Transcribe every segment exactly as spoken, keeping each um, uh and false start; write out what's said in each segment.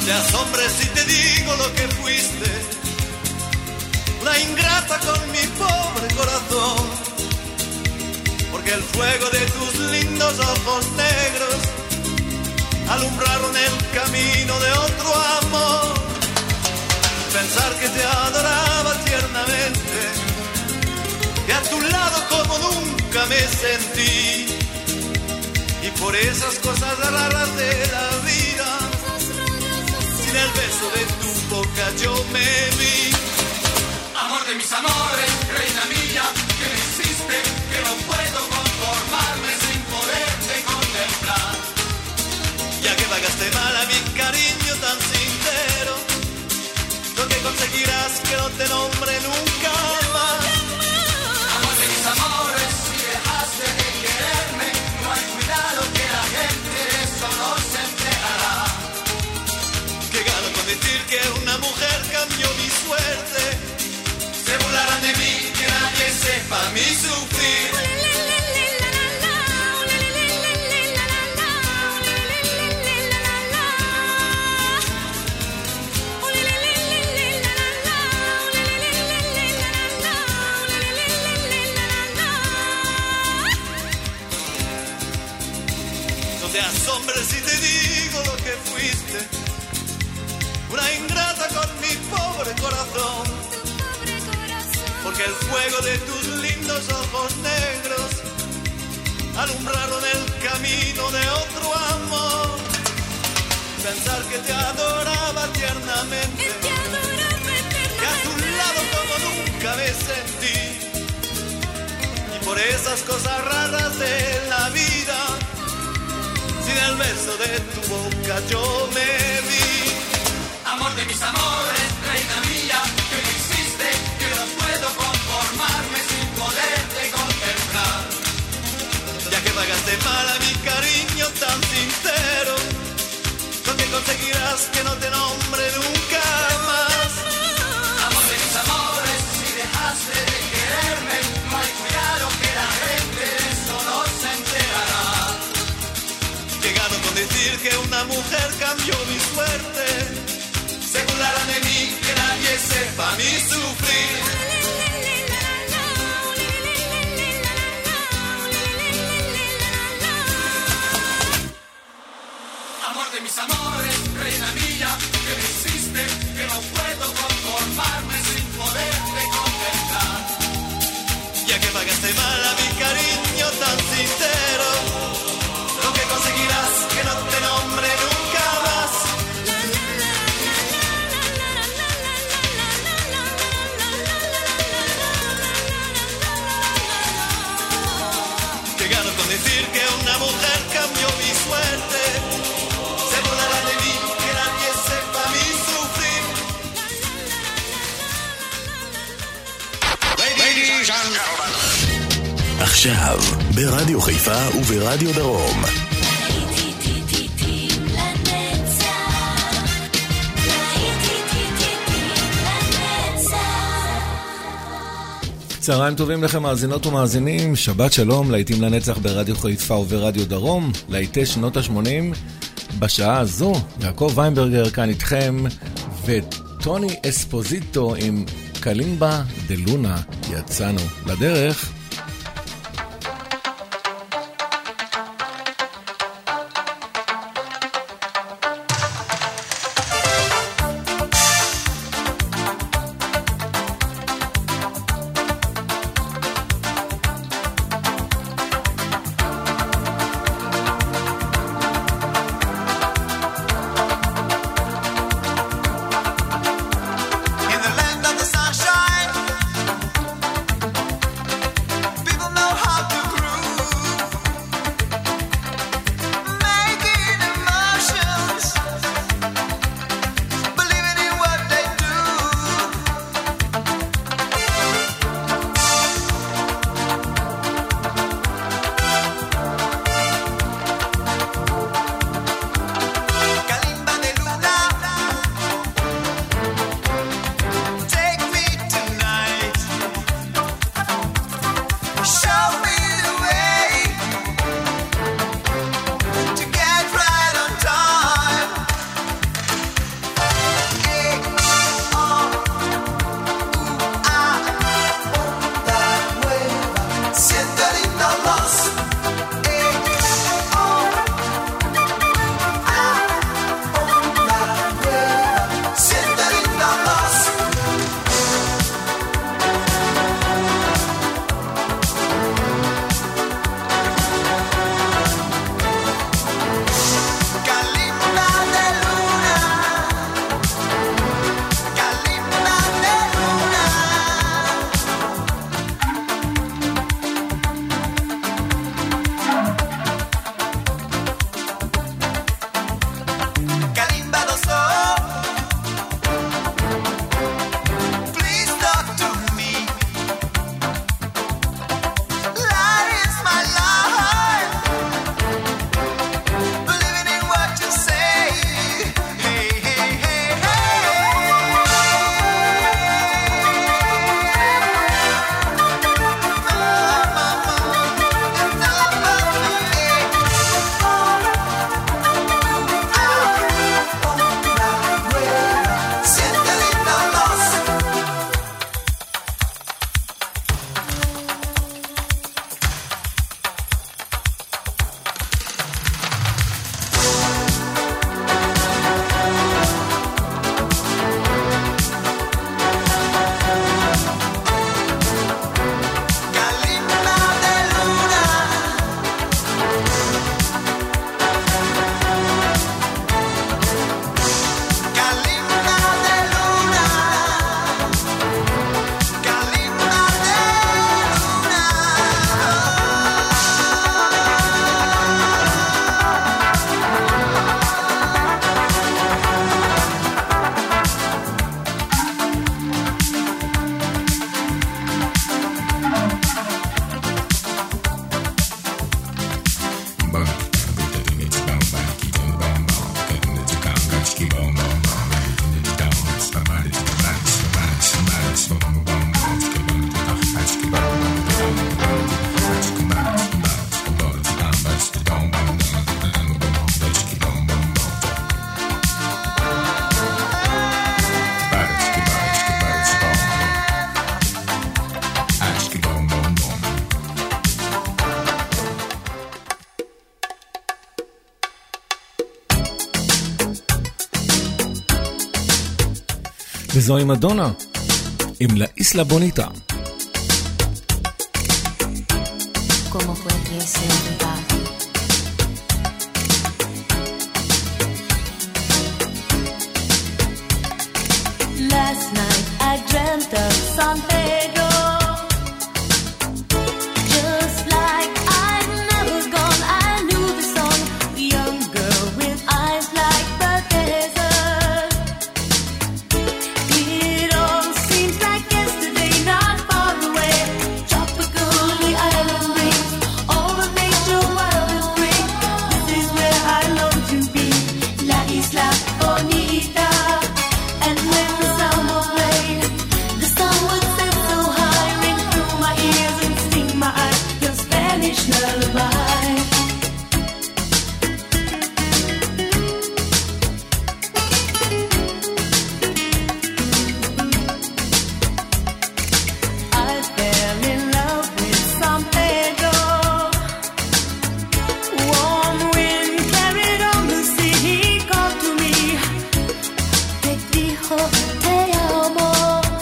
te asombres si te digo lo que fuiste, una ingrata con mi pobre corazón, porque el fuego de tus lindos ojos negros alumbraron el camino de otro amor. Pensar que te adoraba tiernamente, que a tu lado como nunca me sentí, y por esas cosas raras de la vida, sin el beso de tu boca yo me vi. Amor de mis amores, reina mía, que me hiciste, que no puedo conformarme sin poderte contemplar. Ya que pagaste mal a mi cariño tan sincero, lo que conseguirás que no te nombre nunca más. Amor de mis amores, si dejaste de quererme, no hay cuidado que la gente de eso no se enterará. Que gano con decir que una mujer cambió mi suerte, se burlarán de mí, que nadie sepa mi sufrir. No te asombres si te digo lo que fuiste, una ingrata con mi pobre corazón, porque el fuego de tus lindos ojos negros alumbraron el camino de otro amor. Pensar que te adoraba tiernamente, que a tu lado como nunca me sentí, y por esas cosas raras de la vida, sin el beso de tu boca yo me vi. Amor de mis amores, reina mía, que me hiciste, que no puedo conformarme sin poderte contemplar. Ya que pagaste mal a mi cariño tan sincero, lo que conseguirás que no te nombre nunca más. Amor de mis amores, si dejaste de quererme, no hay cuidado que la gente de eso no se enterará. Que gano con decir que una mujer cambió mi suerte, se burlarán de mí, que nadie sepa mi sufrir. Amor de mis amores, reina mía, que me hiciste, que no puedo conformarme sin poderte contemplar. Ya que pagaste mal a mi cariño tan sincero, lo que conseguirás que no te nombre nunca más. Que gano con decir que una mujer cambió mi suerte, se burlará de mí, que nadie sepa mi sufrir. Ladies and gentlemen. עכשיו, ברדיו חיפה וברדיו דרום. צהריים טובים לכם מאזינות ומאזינים, שבת שלום, להיטים לנצח ברדיו חיפה וברדיו דרום, להיטי שנות ה-שמונים. בשעה הזו, יעקב ויינברגר כאן איתכם, וטוני אספוזיטו עם קלימבה דלונה. יצאנו לדרך. In the land of the sunshine, וזוהי מדונה עם לה איסלה בוניטה. ¿Cómo fue que se olvidó? Last night I dreamt of San Pedro, just like I'd never gone. I knew the song, the young girl with eyes like the desert. It all seems like yesterday, not far away. Tropical, the island breeze, all the nature wild and free. This is where I long to be, La Isla Bonita. And when the samba played, the sun would set so high, ring through my ears and sting my eyes, your Spanish lullaby. I fell in love with San Pedro. Warm wind carried on the sea, he called to me. Te dijo te amo.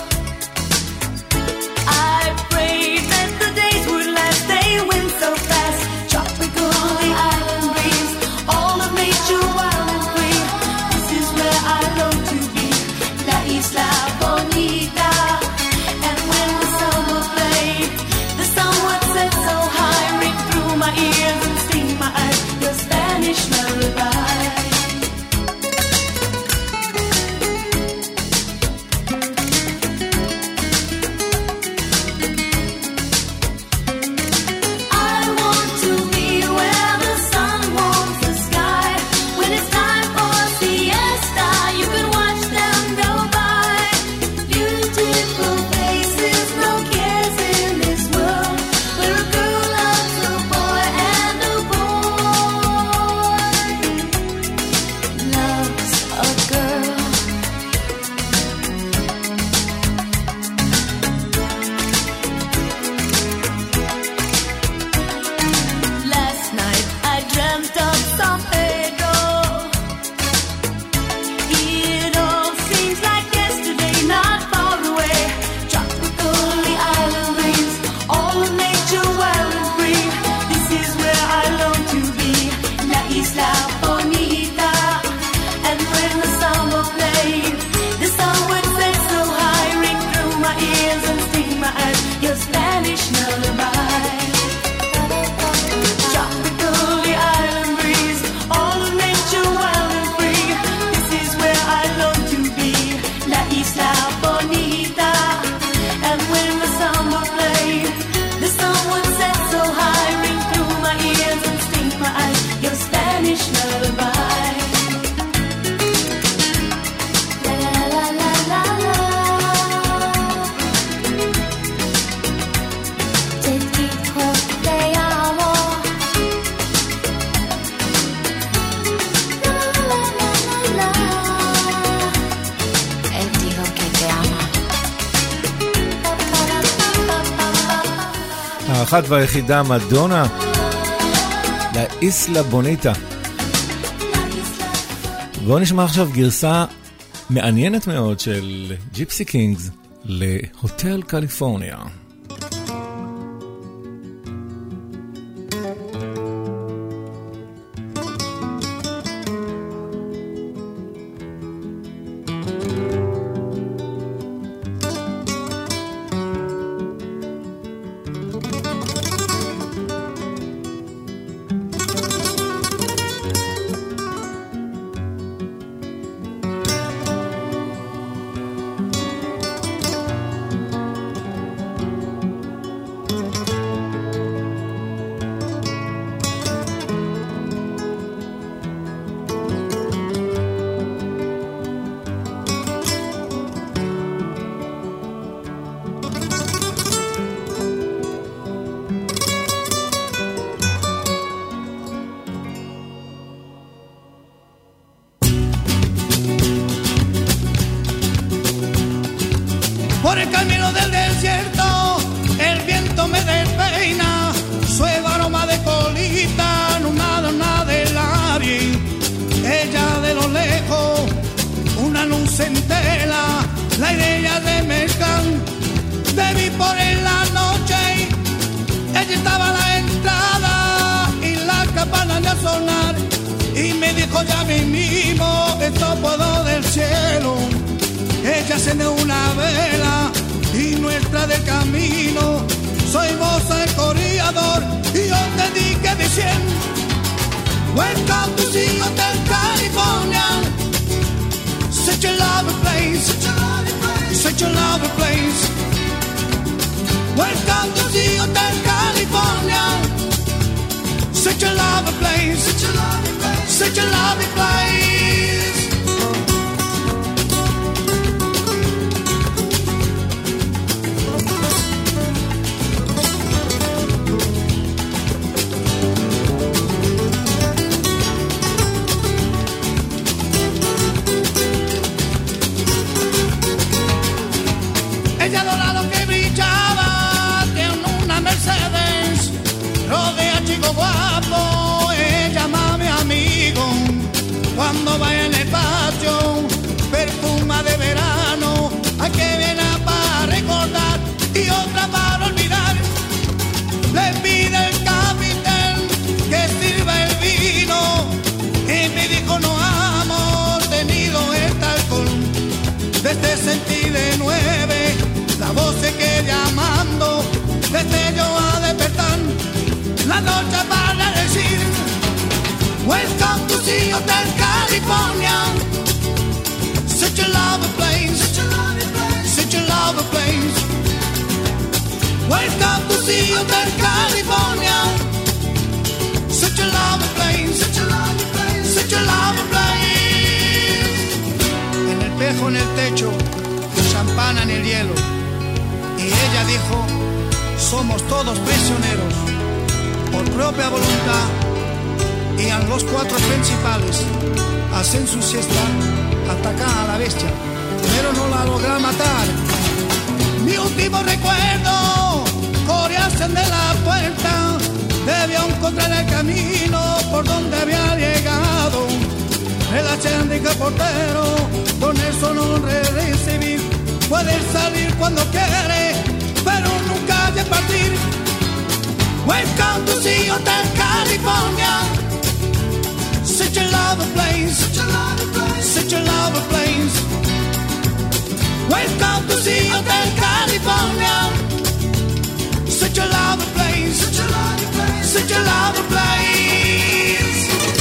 I prayed that the days would last, they went so fast. Tropical, the island breeze, all of nature wild and free. This is where I long to be, La Isla Bonita. And when the summer played, the sun would set so high, ring through my ears and sting my eyes, your Spanish lullaby. I want to be where the sun warms the sky. When it's time for siesta, you can watch them go by. Beautiful faces, no cares in this world, where a girl loves a boy and a boy loves a girl. Last night I dreamt of San Pedro. It all seems like yesterday, not far away. Tropical, the island breeze, all of nature wild and free. This is where I long to be, La Isla Bonita. And when the samba played, the sun would set so high, ring through my ears and sting my eyes, your Spanish lullaby. Tropical, the island breeze, all of nature wild and free. This is where I long to be, La Isla Bonita. And when the samba played, the sun would set so high, ring through my ears and sting my eyes, your Spanish lullaby. La la la la la la. Te dijo te amo. La la la la la. Él dijo que te ama. האחת והיחידה מדונה, לה איסלה בוניטה. בואו נשמע עכשיו גרסה מעניינת מאוד של ג'יפסי קינגס להוטל קליפורניה. Por el camino del desierto, el viento me despeina, suave aroma de colita, no nada, nada del área. Ella de lo lejos, una luz en tela, la por la noche, ella estaba a la entrada y la campana de sonar. Y me dijo ya mismo, esto puedo del cielo. Ella encendeu una vela y nuestra del camino. Soy vos el corredor y yo te dije diciendo, welcome to the Hotel California. Such a lovely place, such a lovely place. Welcome to the Hotel California. Such a lovely place, such a lovely place, such a lovely place. Ella dorado que brillaba en una Mercedes, rodea chico guapo, ella mami amigo. Cuando va en el patio, perfuma de verano, hay que viene para recordar y otra para olvidar. Le pide el capitán que sirva el vino y me dijo no hemos tenido este alcohol. Desde sentí de nueve la voz se que llamando, desde yo a despertar la noche para decir, welcome to the Hotel California. Such a lovely place, such a lovely place, such a lovely place. Welcome to the Hotel California. Such a lovely place, such a lovely place, such a lovely place. En el espejo en el techo, champana en el hielo. Y ella dijo, somos todos prisioneros por propia voluntad. Y a los cuatro principales hacen su siesta, atacan a la bestia, pero no la logran matar. Mi último recuerdo, coreasen de la puerta, debió encontrar el camino por donde había llegado. El achendica portero, con eso no recibir. Puede salir cuando quiere, pero nunca hay que partir. Welcome to the Hotel California. Such a lovely place, such a lovely place, such a lovely place. Welcome to the Hotel California. Such a lovely place, such a lovely place, such a lovely place.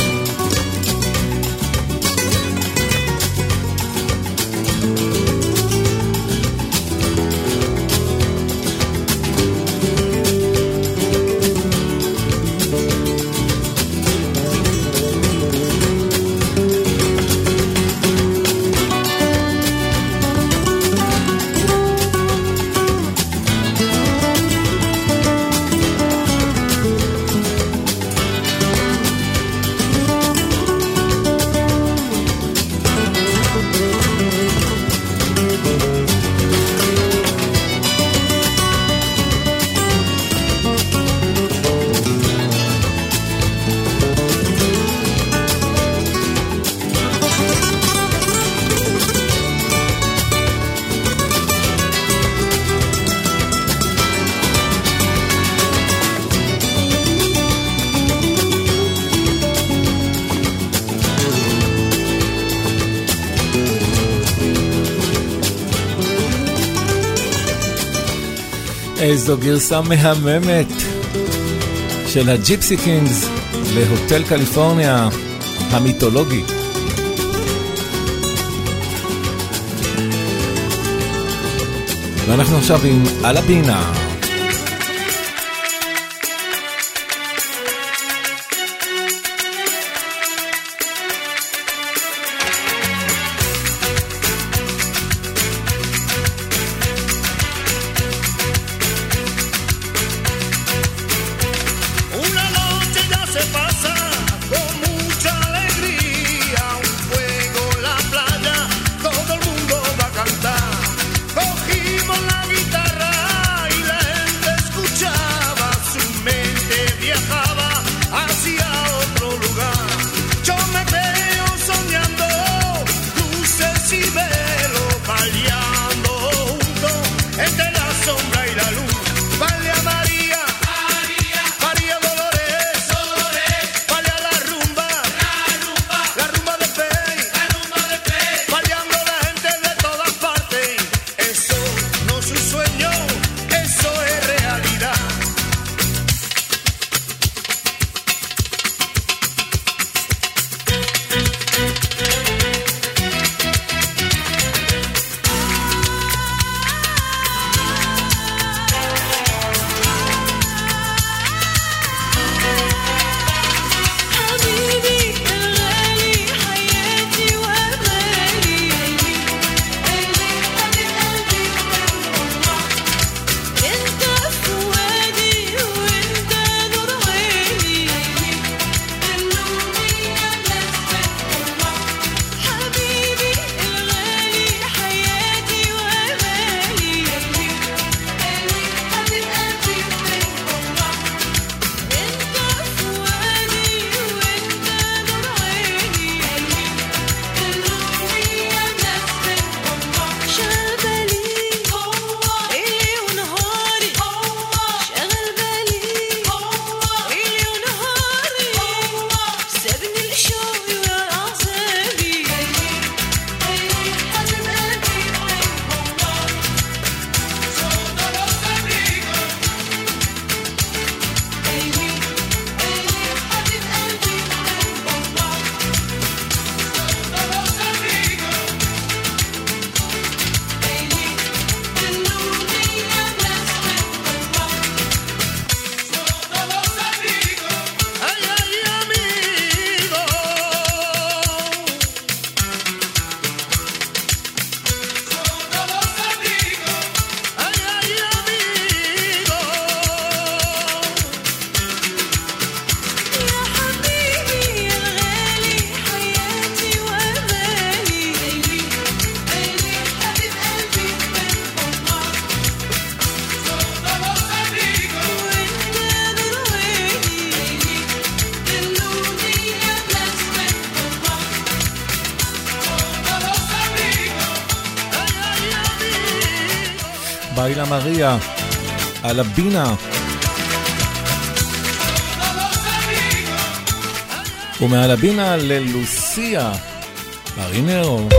איזו גרסה מהממת של הג'יפסי קינגס להוטל קליפורניה המיתולוגי. ואנחנו עכשיו עם אלבינה. Cogimos la guitarra y la Baila Maria, על הבינה. ומעל הבינה ללוסיה, מרינרו.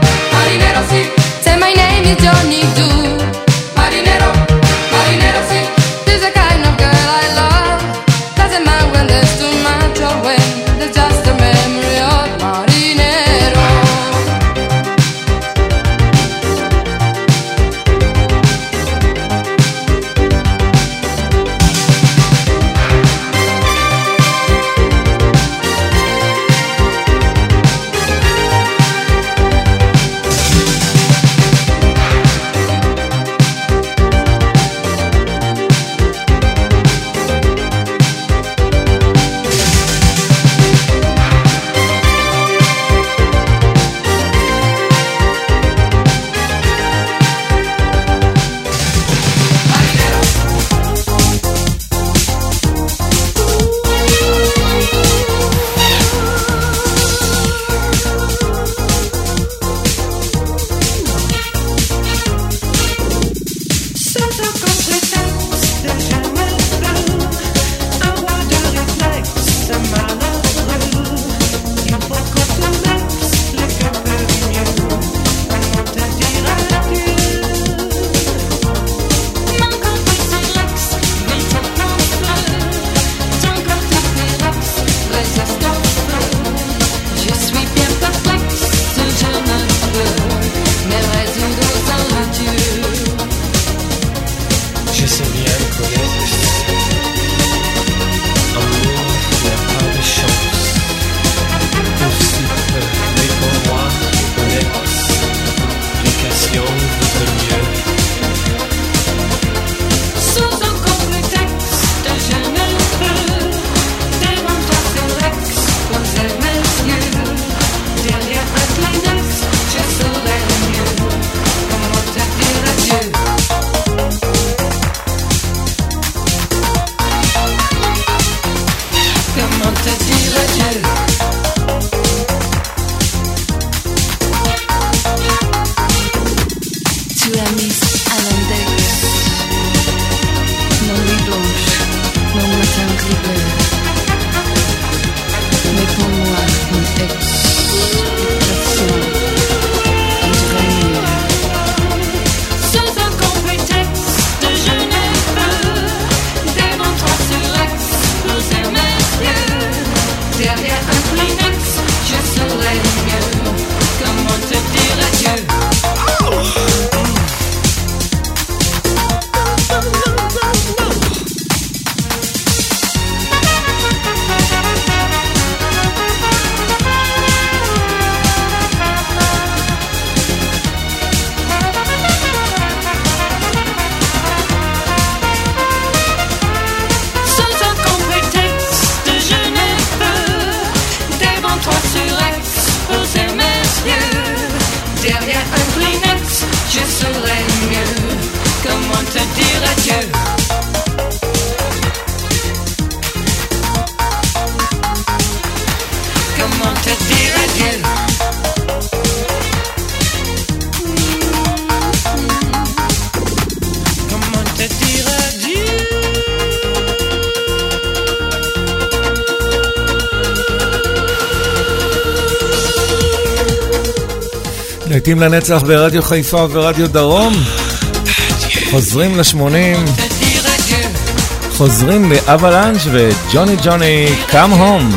Johnny do. Marinero, marinero, sí. להיטים לנצח ברדיו חיפה וברדיו דרום. חוזרים לשמונים, חוזרים לאבלנץ' וג'וני ג'וני קאם הום.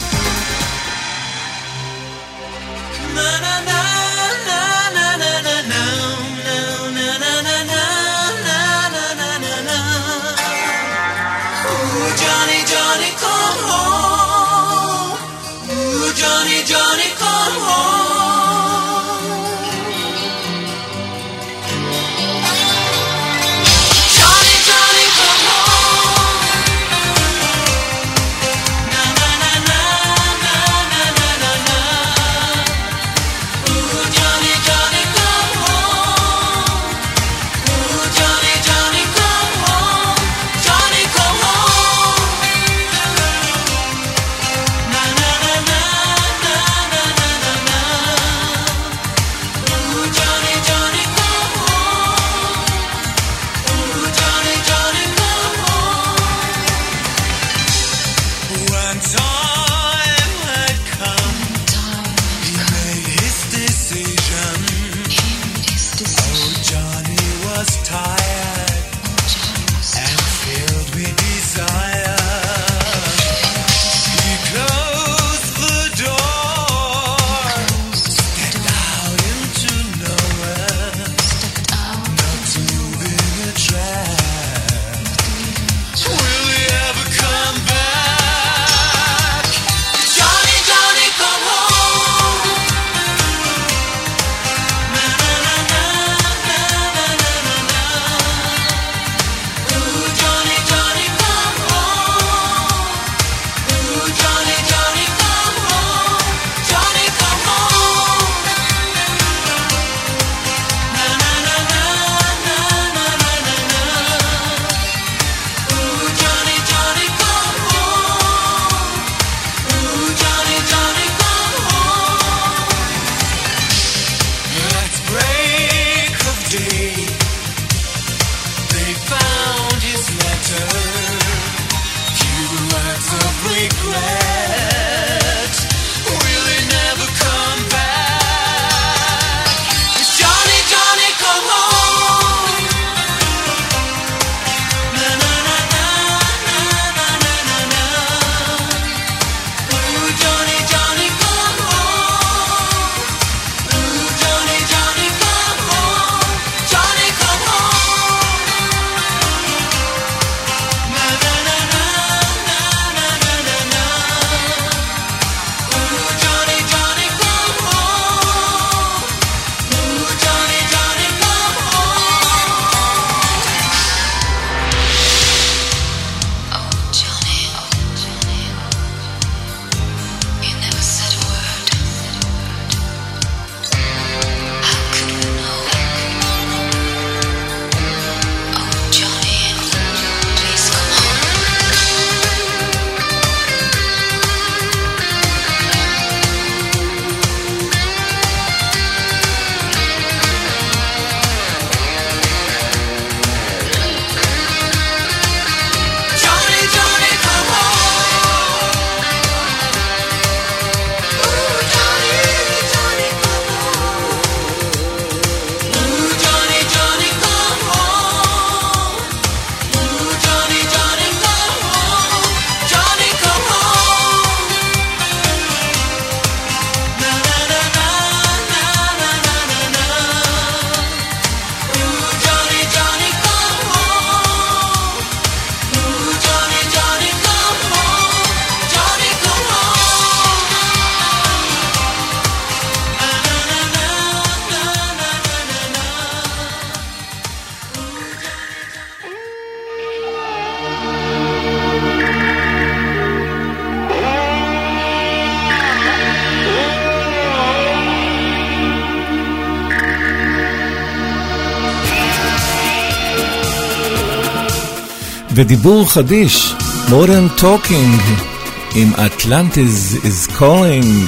ודיבור חדיש, Modern Talking עם Atlantis is Calling.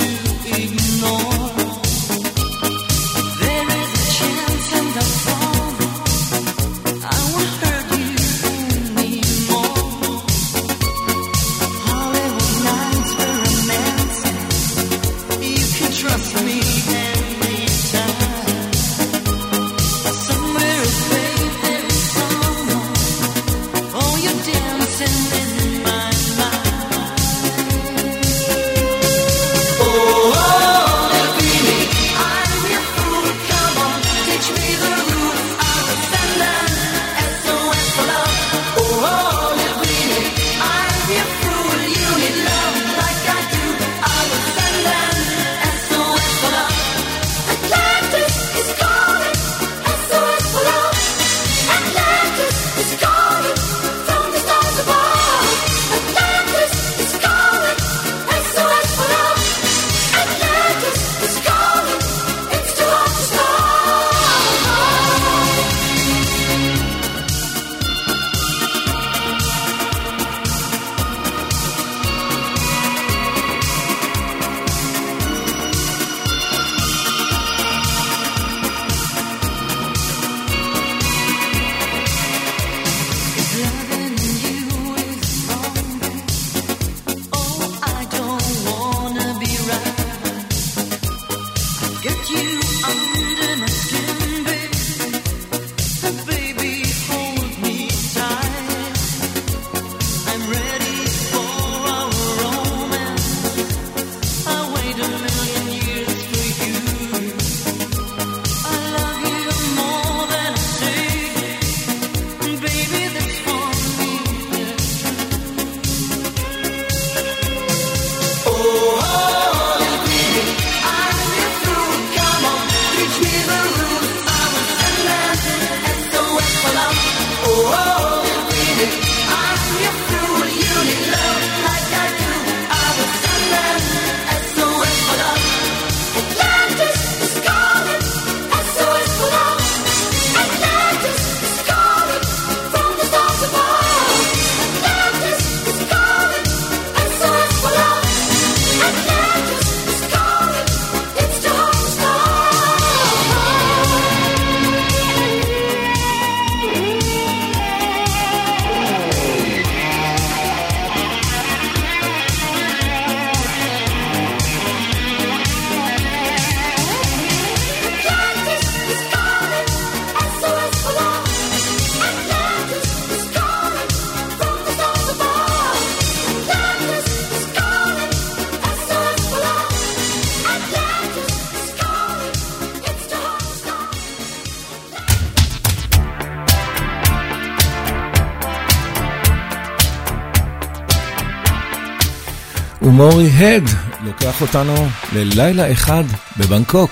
There is a chance and a fall. ומורי הד לוקח אותנו ללילה אחד בבנקוק.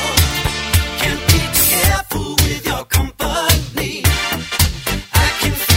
I can feel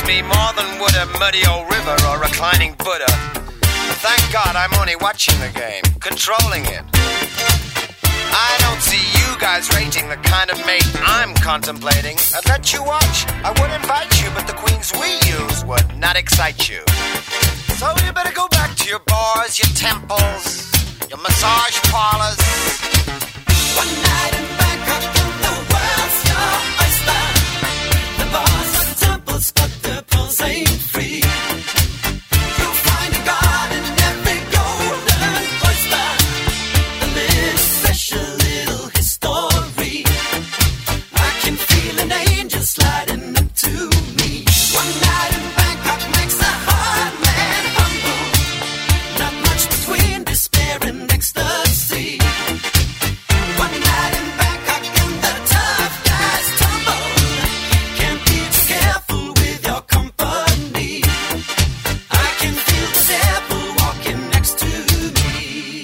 me more than would a muddy old river or reclining Buddha. But thank God I'm only watching the game, controlling it. I don't see you guys rating the kind of mate I'm contemplating. I'd let you watch, I would invite you, but the queens we use would not excite you. So you better go back to your bars, your temples, your massage parlors. One night in Bangkok, the world's your oyster. The bars and temples, but the pearls ain't free. You'll find a god in every golden oyster. And this special little history. I can feel an angel sliding up to me. One night in Bangkok makes a hard man humble. Not much between despair and ecstasy. One night in Bangkok and the tough guys tumble. Can't be too careful with your company. I can feel the devil walking next to me.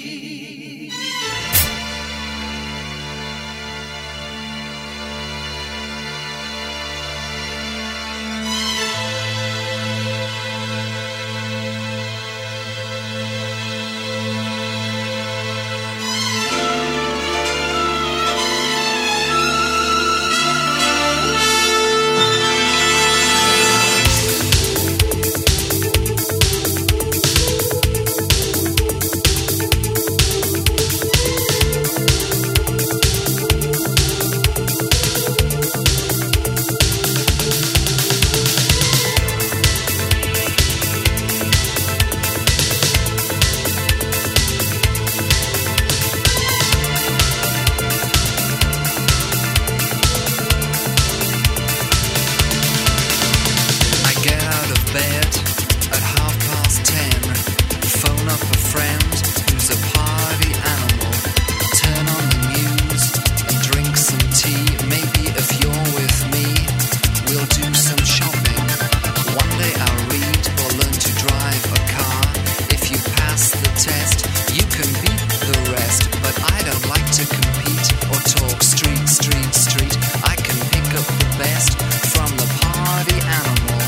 I get out of bed at half past ten. Phone up a friend who's a party animal. Turn on the news and drink some tea. Maybe if you're with me, we'll do some shopping. One day I'll read or learn to drive a car. If you pass the test, you can beat the rest. But I don't like to compete or talk street, street, street. I can pick up the best from the party animal.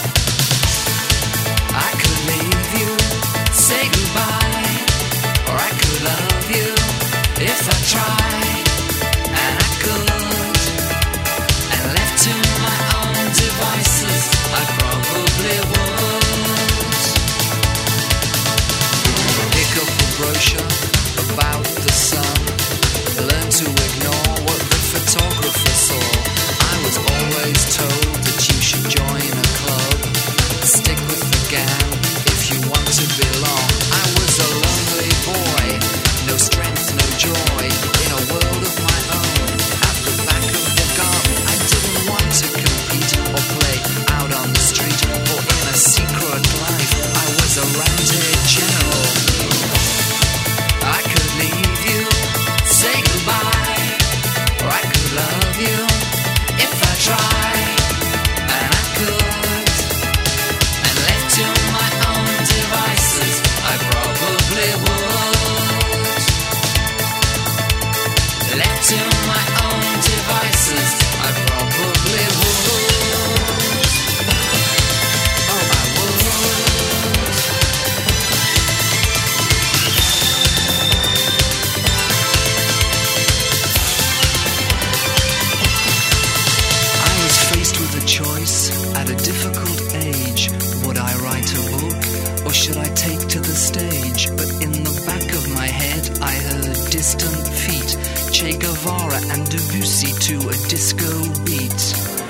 I could leave you, say goodbye, or I could love you if I tried, and I could. And left to my own devices, I probably would. Pick up a brochure about the sun. Learn to ignore what the photographer saw. I was always told that you should join a club. Stick with the gang if you want to belong. I was a lonely boy, no strength, no joy, in a world of my own. At the back of the garden, I didn't want to compete or play out on the street or in a secret life. I was a roundhead general. I could leave you, say goodbye, or I could love you if I tried, and I could. And left to my own devices, I probably would. Left to my own devices, I probably would. Oh, I would. I was faced with a choice at a difficult age. Would I write a book or should I take to the stage? But in the back of my head I heard distant feet, Che Guevara and Debussy to a disco beat.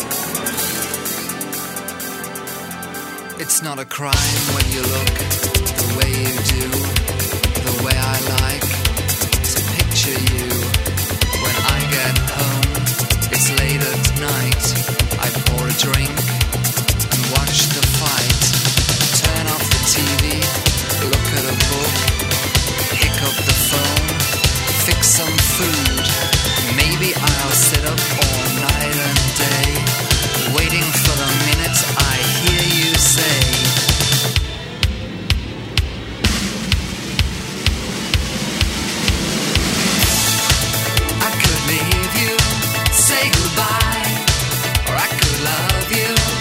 It's not a crime when you look the way you do, the way I like to picture you. When I get home, it's late at night. I pour a drink and watch the fight. Turn off the T V, look at a book, pick up the phone, fix some food. Maybe I'll sit up all night and day, waiting for the minute I hear you say, I could leave you, say goodbye, or I could love you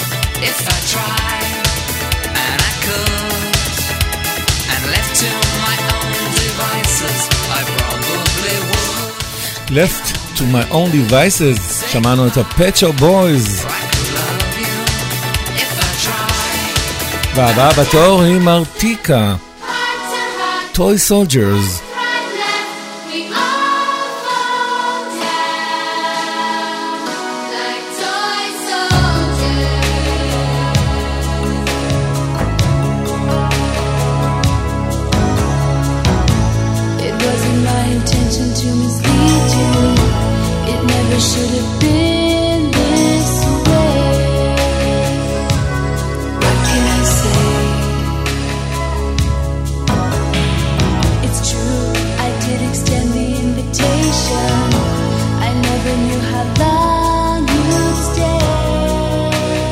Left to my own devices, שמענו את ה-Pet Shop Boys. והבאה בתור היא מרטיקה, Toy Soldiers. Should have been this way. What can I say? It's true, I did extend the invitation. I never knew how long you'd stay.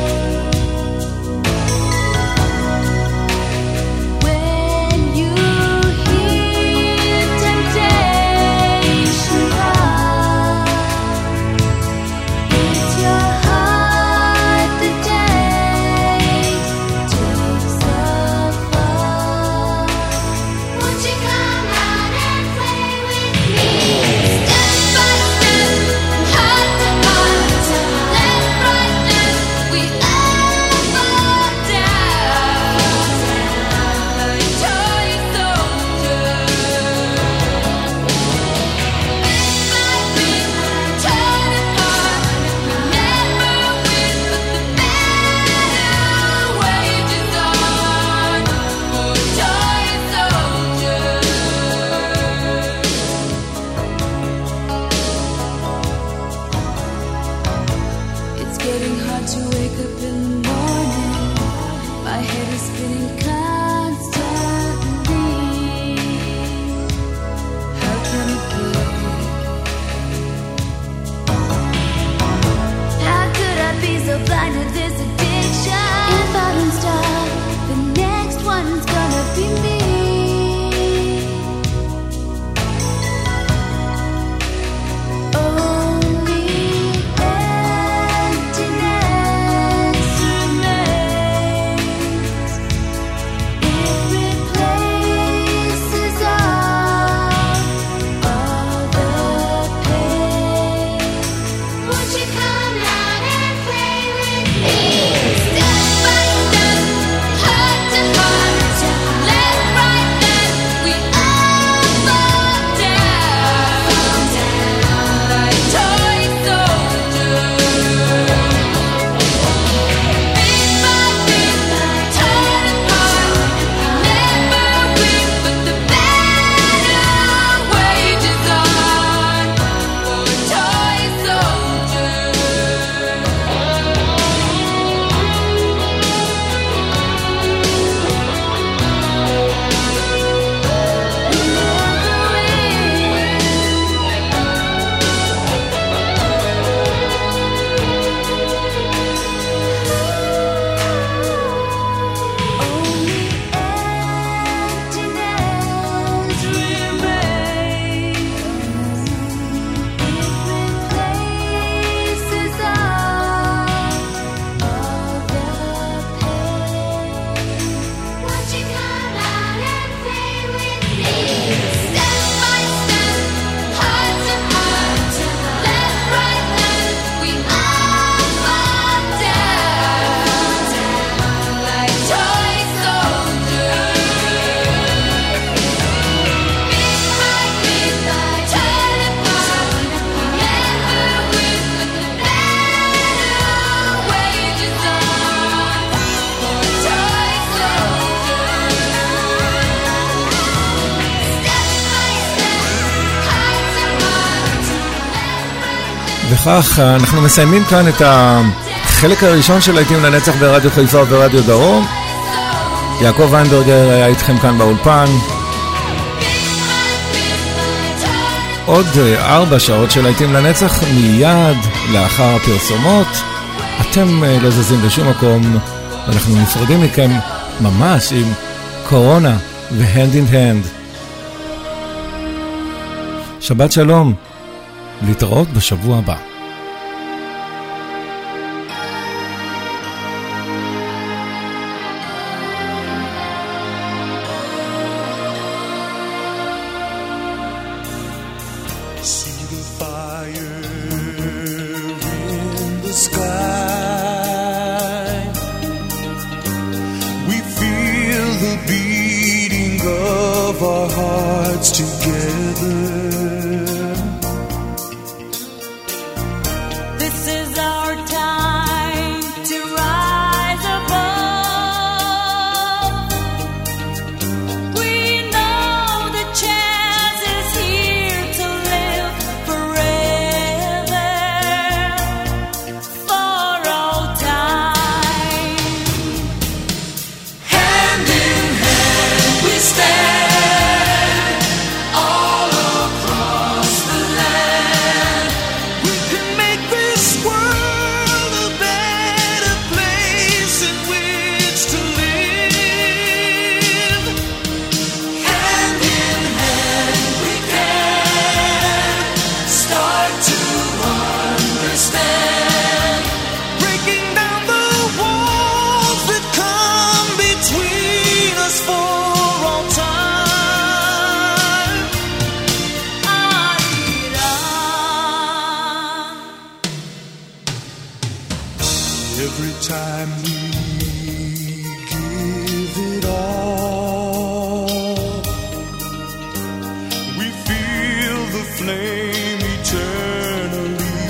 When you hear temptation come, it's your heart that takes, takes the fall. Won't you come out and play with me? Step by step, heart to heart, left, right, left, we all fall down like toy soldiers. Bit by bit, torn apart, we never win, but the battle wages on for toy soldiers. It's getting hard to wake up in the morning. My head is spinning constantly. How can it be? How could I be so blind to this addiction? If I don't stop, the next one's gonna be me. Only emptiness remains. It replaces all, all the pain. Won't you come out and play with me? Step by step, heart to heart, left, right, left, we all fall down like toy soldiers. Bit by bit, torn apart, never win, but the battle wages on for toy soldiers. Only emptiness remains. It replaces all, all the pain. Won't you come out and play with me? Step by step, heart to heart, left, right, left, we all fall down like toy soldiers. Bit by bit, torn apart, never win, but the battle wages on for toy soldiers. Step by step, heart to heart, left, right, וכך אנחנו מסיימים כאן את החלק הראשון של להיטים לנצח ברדיו חיפה וברדיו דרום. יעקב ויינברגר היה איתכם כאן באולפן. עוד אה, ארבע שעות של להיטים לנצח מיד לאחר הפרסומות. אתם אה, לא זזים בשום מקום, אנחנו נפרדים מכם ממש עם קורונה והנד אין הנד. שבת שלום, להתראות בשבוע הבא. See the fire the beating of our hearts together. This is our time to rise above. We know the chance is here to live forever, for all time. Hand in hand we stand, all across the land. We can make this world a better place in which to live. Hand in hand we can start to understand. Breaking down the walls that come between us for all time. Adira. Every time we give it all, we feel the flame eternally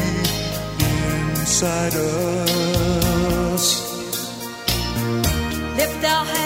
inside us. Lift our hands